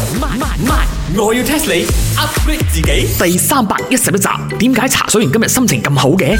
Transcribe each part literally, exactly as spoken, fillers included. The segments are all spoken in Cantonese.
慢慢慢，我要 test 你 upgrade 自己。第三百一十一集，點解茶水員今日心情咁好嘅？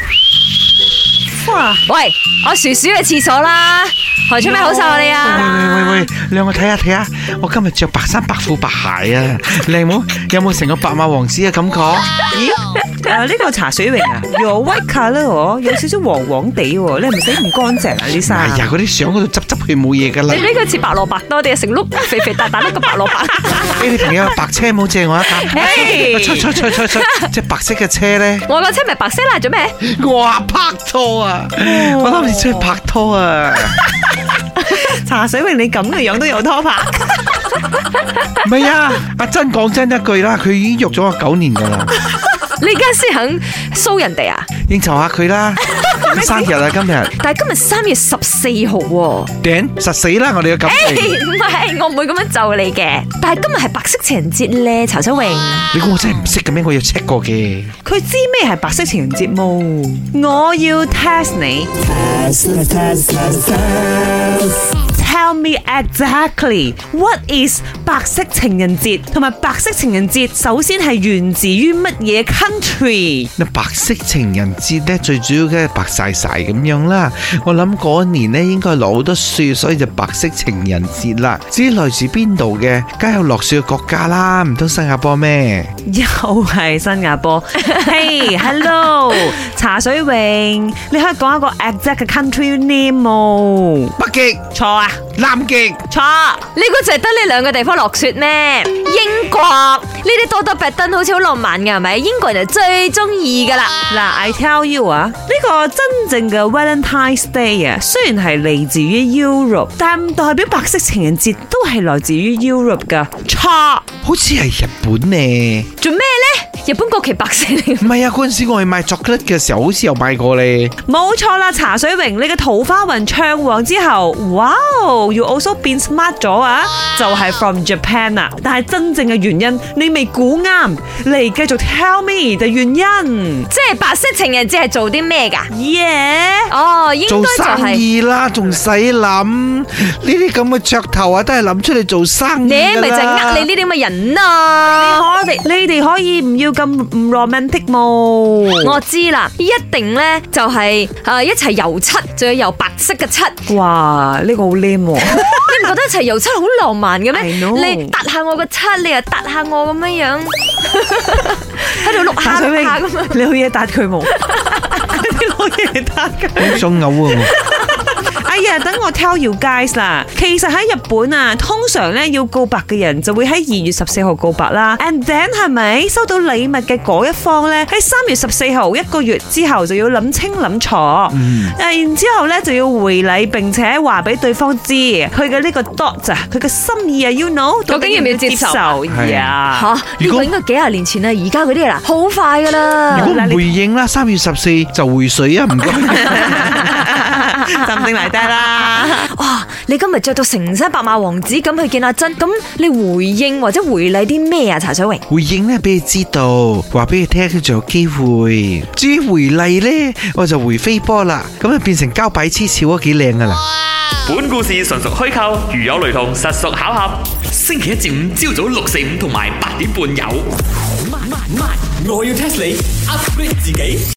哇！喂，我薯薯嘅廁所啦，何出咩好受啊你啊？ 喂喂喂，兩個睇下睇下，我今日着白衫白褲白鞋啊，靚冇？有冇成個白馬王子嘅感覺？ 咦？啊呢個茶水榮啊，有 white colour 喎，有少少黃黃地喎，你係咪洗唔乾淨啊？呢衫？ 哎呀，嗰啲相嗰度執執佢冇嘢噶啦。 你呢個似白蘿蔔多啲，成碌肥肥大大粒個白蘿蔔。 誒，你朋友白車冇借我一架？出出出出出，即係白色嘅車咧。 我個車咪白色啦，做咩？ 哇，拍拖啊！我諗你出去拍拖啊！ 茶水榮你咁嘅樣都有拖拍？ 唔係啊，阿珍講真一句啦，佢已經約咗我九年噶啦。 你而家先肯騷人哋啊？ 應酬下佢啦，生日啊今日。 但係今日三月十四號喎。 頂實死啦！我哋嘅感情。 誒唔係，我唔會咁樣就你嘅。但係今日係白色情人節咧，茶水榮。 你估我真係唔識嘅咩？我要 check 過嘅。 佢知咩係白色情人節冇？我要 test 你。Tell me exactly what is 白色情人節，同埋白色情人節首先係源自於乜嘢 country？ 嗱，白色情人節咧最主要嘅係白晒晒咁樣啦。我諗嗰年咧應該落好多雪，所以就白色情人節啦。至於來自邊度嘅，梗有落雪嘅國家啦，唔通新加坡咩？ 又係新加坡。Hey, hello， 茶水榮，你可以講一個 exact 嘅 country name 冇？ 北極錯啊！ 南極錯，呢個就係得呢兩個地方落雪咩？英國呢啲多多白燈好似好浪漫嘅係咪？英國人就最中意噶啦。 嗱 ，I tell you 啊，呢個真正嘅 Valentine's Day 啊，雖然係嚟自於 Europe， 但唔代表白色情人節都係來自於 Europe 噶。錯， 好似係日本呢？ 做咩呢？日本國旗白色嚟。 唔係啊，嗰陣時我去買 chocolate 嘅時候，好似有買過咧。 冇錯啦，茶水榮，你嘅桃花運唱旺之後，哇 ，you also 變 smart 咗啊，就係 from Japan 啊。但係真正嘅原因，你未估啱，嚟繼續 tell me 嘅原因。 即係白色情人節係做啲咩噶？ 耶！ 哦，應做該就生係。 意啦，仲使諗呢啲咁嘅噱頭啊，都係諗出嚟做生意你噶啦。 咪就係呃你呢啲咁嘅人啊！ 我哋你哋可以唔要咁唔 romantic 冇？ 我知啦，一定咧就係誒一齊油漆，仲要油白色嘅漆。 哇，呢個好靚喎！ 你唔覺得一齊油漆好浪漫嘅咩？ I know 你搭下我個漆，你又搭下我咁樣樣，喺度碌下碌下咁樣。 你好嘢答佢冇？你好嘢答佢。 好想嘔啊！ 哎呀，等我 tell you guys 啦。其實喺日本啊，通常咧要告白嘅人就會喺二月十四號告白啦。And then 係咪收到禮物嘅嗰一方咧喺三月十四號一個月之後就要諗清諗楚，嗯、然之後咧就要回禮，並且話俾對方知佢嘅呢個 thought 啊，佢嘅心意啊 ，you know， 究竟要唔要接受呀？ 吓，呢個應該幾廿年前啦，而家嗰啲啦，好快噶啦。 如果唔回應啦，三月十四就回水啊！唔該。 鎮定嚟得啦！ 哇，你今日着到成身白馬王子咁去見阿珍，咁你回應或者回禮啲咩啊？茶水榮回應咧，俾你知道，話俾你聽，佢仲有機會。至於回禮咧，我就回飛波啦，咁啊變成膠擺黐潮啊，幾靚噶啦！ 本故事純屬虛構，如有雷同，實屬巧合。星期一至五朝早六四五同埋八點半有。慢慢慢，我要 test 你 upgrade 自己。